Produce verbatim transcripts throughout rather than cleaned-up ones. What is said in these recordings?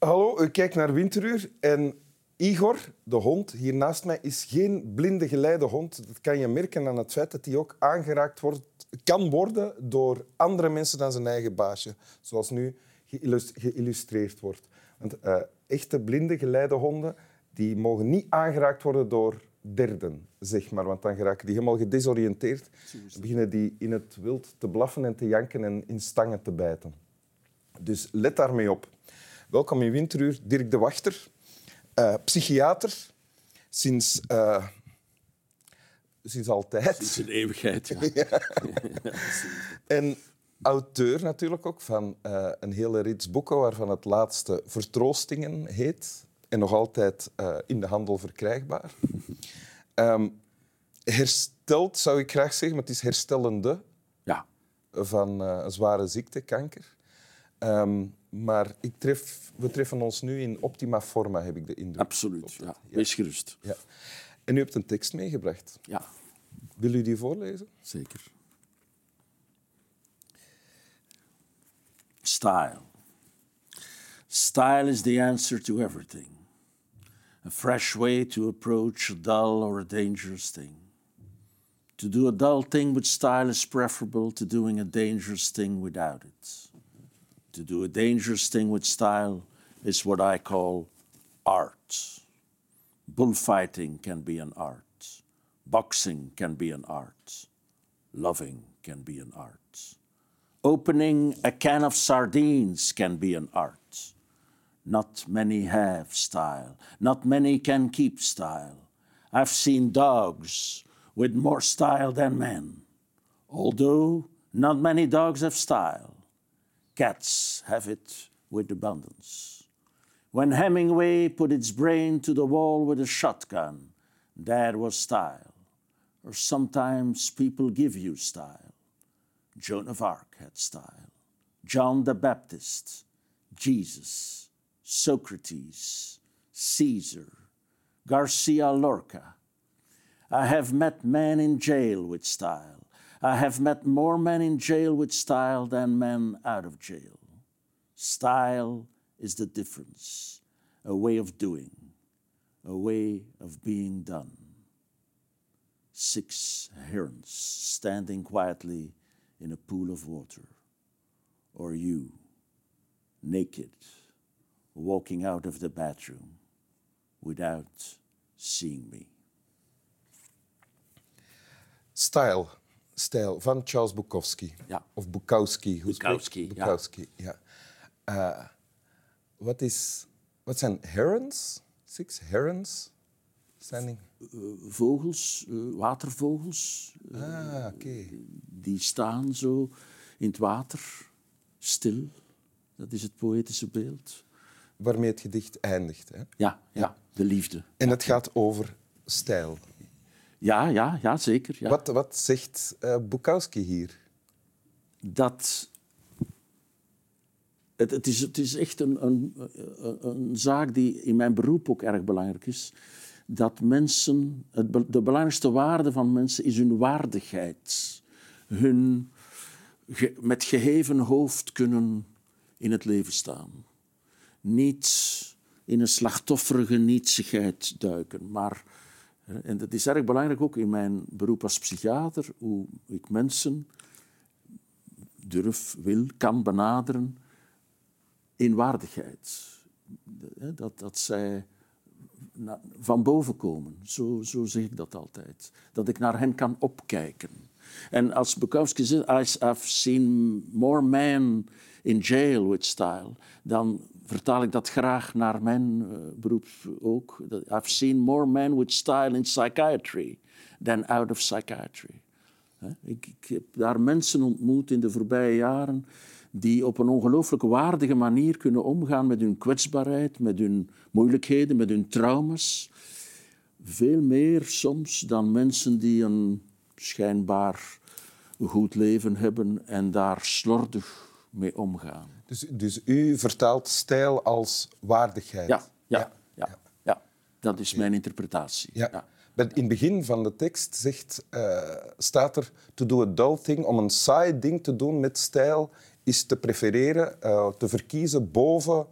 hallo, u kijkt naar Winteruur en Igor, de hond, hier naast mij, is geen blinde geleide hond. Dat kan je merken aan het feit dat hij ook aangeraakt wordt, kan worden door andere mensen dan zijn eigen baasje. Zoals nu geïllustreerd wordt. Want uh, echte blinde geleidehonden die mogen niet aangeraakt worden door derden, zeg maar. Want dan geraken die helemaal gedesoriënteerd. Dan beginnen die in het wild te blaffen en te janken en in stangen te bijten. Dus let daarmee op. Welkom in Winteruur, Dirk de Wachter. Uh, psychiater, sinds, uh, sinds altijd. Sinds een eeuwigheid, ja. Ja. En auteur natuurlijk ook van uh, een hele rits boeken, waarvan het laatste Vertroostingen heet. En nog altijd uh, in de handel verkrijgbaar. Um, hersteld, zou ik graag zeggen, maar het is herstellende ja. van uh, een zware ziekte, kanker. Um, maar ik tref, we treffen ons nu in optima forma, heb ik de indruk. Absoluut, ja. Wees gerust. Ja. En u hebt een tekst meegebracht. Ja. Wil u die voorlezen? Zeker. Style. Style is the answer to everything. A fresh way to approach a dull or a dangerous thing. To do a dull thing with style is preferable to doing a dangerous thing without it. To do a dangerous thing with style is what I call art. Bullfighting can be an art. Boxing can be an art. Loving can be an art. Opening a can of sardines can be an art. Not many have style. Not many can keep style. I've seen dogs with more style than men. Although not many dogs have style. Cats have it with abundance. When Hemingway put its brain to the wall with a shotgun, that was style. Or sometimes people give you style. Joan of Arc had style. John the Baptist, Jesus, Socrates, Caesar, Garcia Lorca. I have met men in jail with style. I have met more men in jail with style than men out of jail. Style is the difference, a way of doing, a way of being done. Six herons standing quietly in a pool of water, or you, naked, walking out of the bathroom without seeing me. Style. Stijl van Charles Bukowski. Ja. Of Bukowski. Hoe Bukowski, Bukowski, ja. ja. Uh, wat, is, wat zijn herons? Six herons? Standing. Uh, vogels, uh, watervogels. Uh, ah, oké. Okay. Die staan zo in het water, stil. Dat is het poëtische beeld. Waarmee het gedicht eindigt. Hè? Ja, ja, ja, de liefde. En het gaat over stijl. Ja, ja, ja, zeker. Ja. Wat, wat zegt uh, Bukowski hier? Dat... Het, het, is, het is echt een, een, een, een zaak die in mijn beroep ook erg belangrijk is. Dat mensen... Het, de belangrijkste waarde van mensen is hun waardigheid. Hun ge, met geheven hoofd kunnen in het leven staan. Niet in een slachtofferige nietsigheid duiken, maar... En dat is erg belangrijk ook in mijn beroep als psychiater, hoe ik mensen durf, wil, kan benaderen in waardigheid. Dat, dat zij van boven komen, zo, zo zeg ik dat altijd. Dat ik naar hen kan opkijken. En als Bukowski zegt, I've seen more men in jail with style, dan vertaal ik dat graag naar mijn uh, beroep ook. I've seen more men with style in psychiatry than out of psychiatry. He? Ik, ik heb daar mensen ontmoet in de voorbije jaren die op een ongelooflijk waardige manier kunnen omgaan met hun kwetsbaarheid, met hun moeilijkheden, met hun trauma's. Veel meer soms dan mensen die een schijnbaar goed leven hebben en daar slordig mee omgaan. Dus, dus u vertaalt stijl als waardigheid? Ja, ja, ja, ja. ja. Dat is mijn interpretatie. Ja. Ja. In het begin van de tekst zegt, uh, staat er... To do a dull thing, om een saai ding te doen met stijl, is te prefereren, uh, te verkiezen boven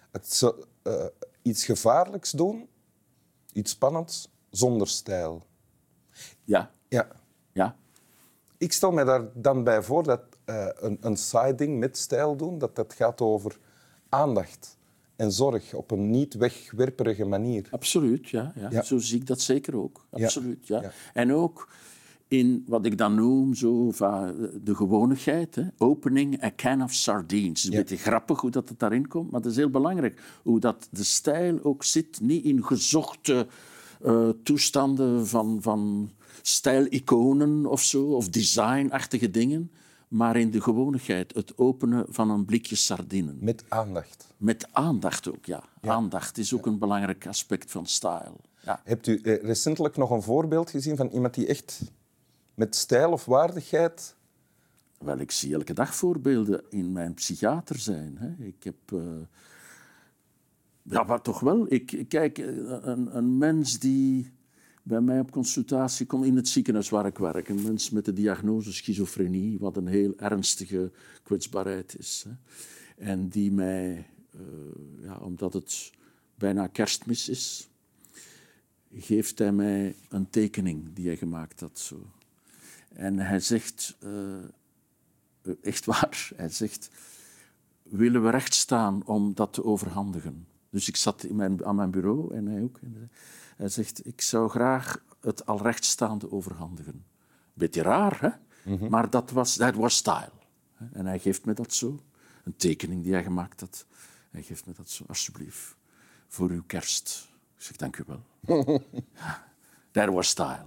Het zo, uh, iets gevaarlijks doen, iets spannends, zonder stijl. Ja. Ja. Ja. Ik stel me daar dan bij voor dat uh, een, een siding met stijl doen, dat dat gaat over aandacht en zorg op een niet wegwerperige manier. Absoluut, ja, ja. Ja. Zo zie ik dat zeker ook. Absoluut, ja. Ja. En ook in wat ik dan noem zo, de gewonigheid. Hè. Opening a can of sardines. Het is een Ja. beetje grappig hoe dat het daarin komt, maar dat is heel belangrijk. Hoe dat de stijl ook zit, niet in gezochte uh, toestanden van, van stijliconen of zo, of designachtige dingen, maar in de gewonigheid, het openen van een blikje sardinen. Met aandacht. Met aandacht ook, ja. ja. Aandacht is ook ja. een belangrijk aspect van style. Ja. Hebt u eh, recentelijk nog een voorbeeld gezien van iemand die echt met stijl of waardigheid... Wel, ik zie elke dag voorbeelden in mijn psychiater zijn. Hè. Ik heb... Uh... Ja, maar toch wel. Ik, kijk, een, een mens die bij mij op consultatie komt in het ziekenhuis waar ik werk. Een mens met de diagnose schizofrenie, wat een heel ernstige kwetsbaarheid is. Hè. En die mij, uh, ja, omdat het bijna kerstmis is, geeft hij mij een tekening die hij gemaakt had. Zo. En hij zegt, uh, echt waar, hij zegt, willen we recht staan om dat te overhandigen? Dus ik zat in mijn, aan mijn bureau en hij ook. En hij zegt, ik zou graag het al rechtstaande overhandigen. Beetje raar, hè? Mm-hmm. Maar dat was, dat was style. En hij geeft me dat zo. Een tekening die hij gemaakt had. Hij geeft me dat zo, alsjeblieft, voor uw kerst. Ik zeg, dank u wel. That was style.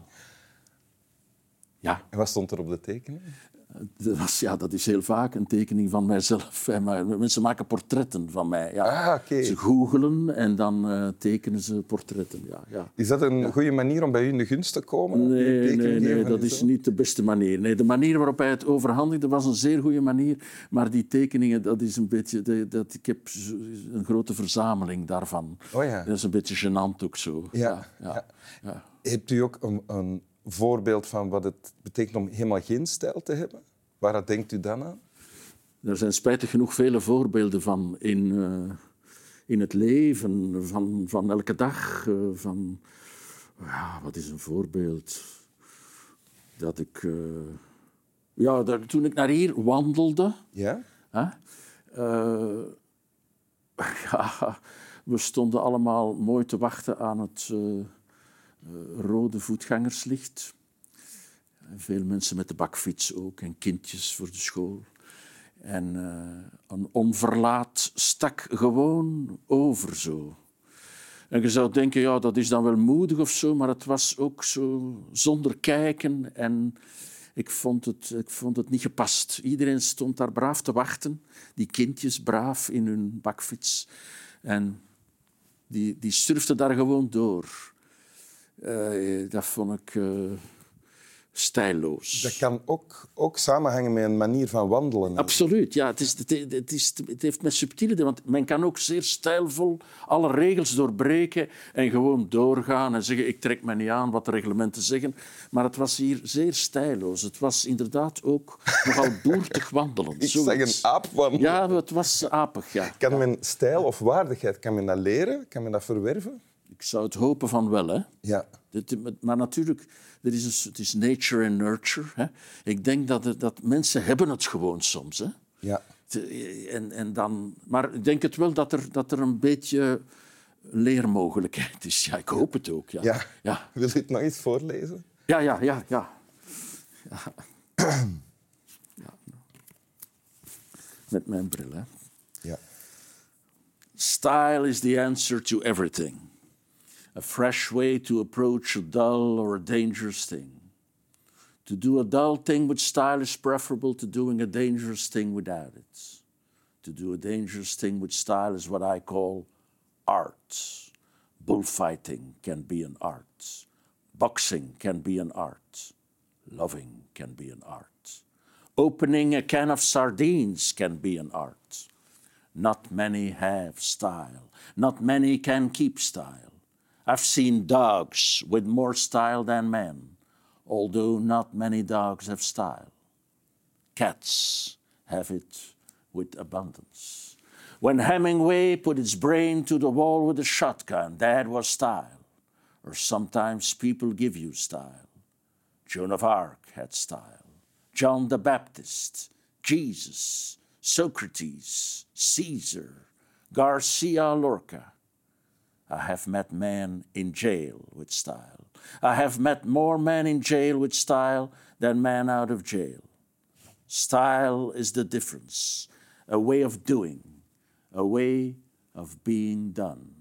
Ja. En wat stond er op de tekening? Dat, was, ja, dat is heel vaak een tekening van mijzelf. Mensen maken portretten van mij. Ja. Ah, okay. Ze googelen en dan uh, tekenen ze portretten. Ja, ja. Is dat een ja. goede manier om bij u in de gunst te komen? Nee, nee, nee dat is niet de beste manier. Nee, de manier waarop hij het overhandigde was een zeer goede manier. Maar die tekeningen, dat is een beetje... Dat, dat, ik heb een grote verzameling daarvan. Oh, ja. Dat is een beetje gênant ook zo. Ja. Ja, ja, Ja. ja. Hebt u ook een, een voorbeeld van wat het betekent om helemaal geen stijl te hebben? Waar denkt u dan aan? Er zijn spijtig genoeg vele voorbeelden van in, uh, in het leven, van, van elke dag. Uh, van, ja, wat is een voorbeeld? Dat ik... Uh, ja, dat, toen ik naar hier wandelde... Ja? Hè, uh, ja, we stonden allemaal mooi te wachten aan het uh, uh, rode voetgangerslicht. Veel mensen met de bakfiets ook en kindjes voor de school. En uh, een onverlaat stak gewoon over zo. En je zou denken, ja, dat is dan wel moedig of zo, maar het was ook zo zonder kijken. En ik vond het, ik vond het niet gepast. Iedereen stond daar braaf te wachten. Die kindjes braaf in hun bakfiets. En die, die surfden daar gewoon door. Uh, dat vond ik... Uh, stijlloos. Dat kan ook, ook samenhangen met een manier van wandelen. Absoluut, ja. Het, is, het, het, is, het heeft met subtiele... Want men kan ook zeer stijlvol alle regels doorbreken en gewoon doorgaan en zeggen ik trek me niet aan wat de reglementen zeggen. Maar het was hier zeer stijlloos. Het was inderdaad ook nogal boertig wandelen. Ik zoiets. zeg een aap wandelen. Ja, het was apig, ja. Kan men stijl of waardigheid, kan men dat leren? Kan men dat verwerven? Ik zou het hopen van wel, hè. Ja. Maar natuurlijk, er is een, het is nature and nurture. Hè. Ik denk dat, er, dat mensen hebben het gewoon soms. Hè. Ja. En, en dan, maar ik denk het wel dat er, dat er een beetje leermogelijkheid is. Ja, ik hoop het ook. Ja. Ja. Ja. Wil je het nog eens voorlezen? Ja, ja, ja. ja. ja. ja. Met mijn bril, hè. Ja. Style is the answer to everything. A fresh way to approach a dull or a dangerous thing. To do a dull thing with style is preferable to doing a dangerous thing without it. To do a dangerous thing with style is what I call art. Bullfighting can be an art. Boxing can be an art. Loving can be an art. Opening a can of sardines can be an art. Not many have style. Not many can keep style. I've seen dogs with more style than men, although not many dogs have style. Cats have it with abundance. When Hemingway put its brain to the wall with a shotgun, that was style. Or sometimes people give you style. Joan of Arc had style. John the Baptist, Jesus, Socrates, Caesar, Garcia Lorca. I have met men in jail with style. I have met more men in jail with style than men out of jail. Style is the difference, a way of doing, a way of being done.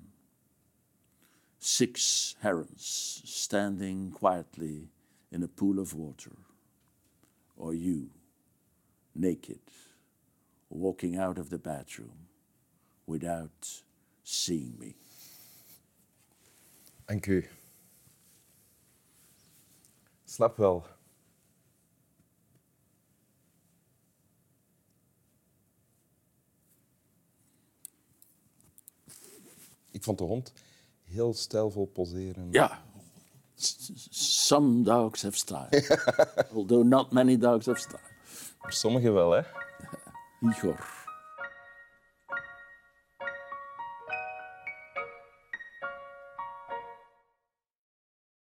Six herons standing quietly in a pool of water. Or you, naked, walking out of the bathroom without seeing me. Dank u. Slap wel. Ik vond de hond heel stijlvol poseren. Ja, some dogs have style. Although not many dogs have style. Sommige wel, hè? Igor.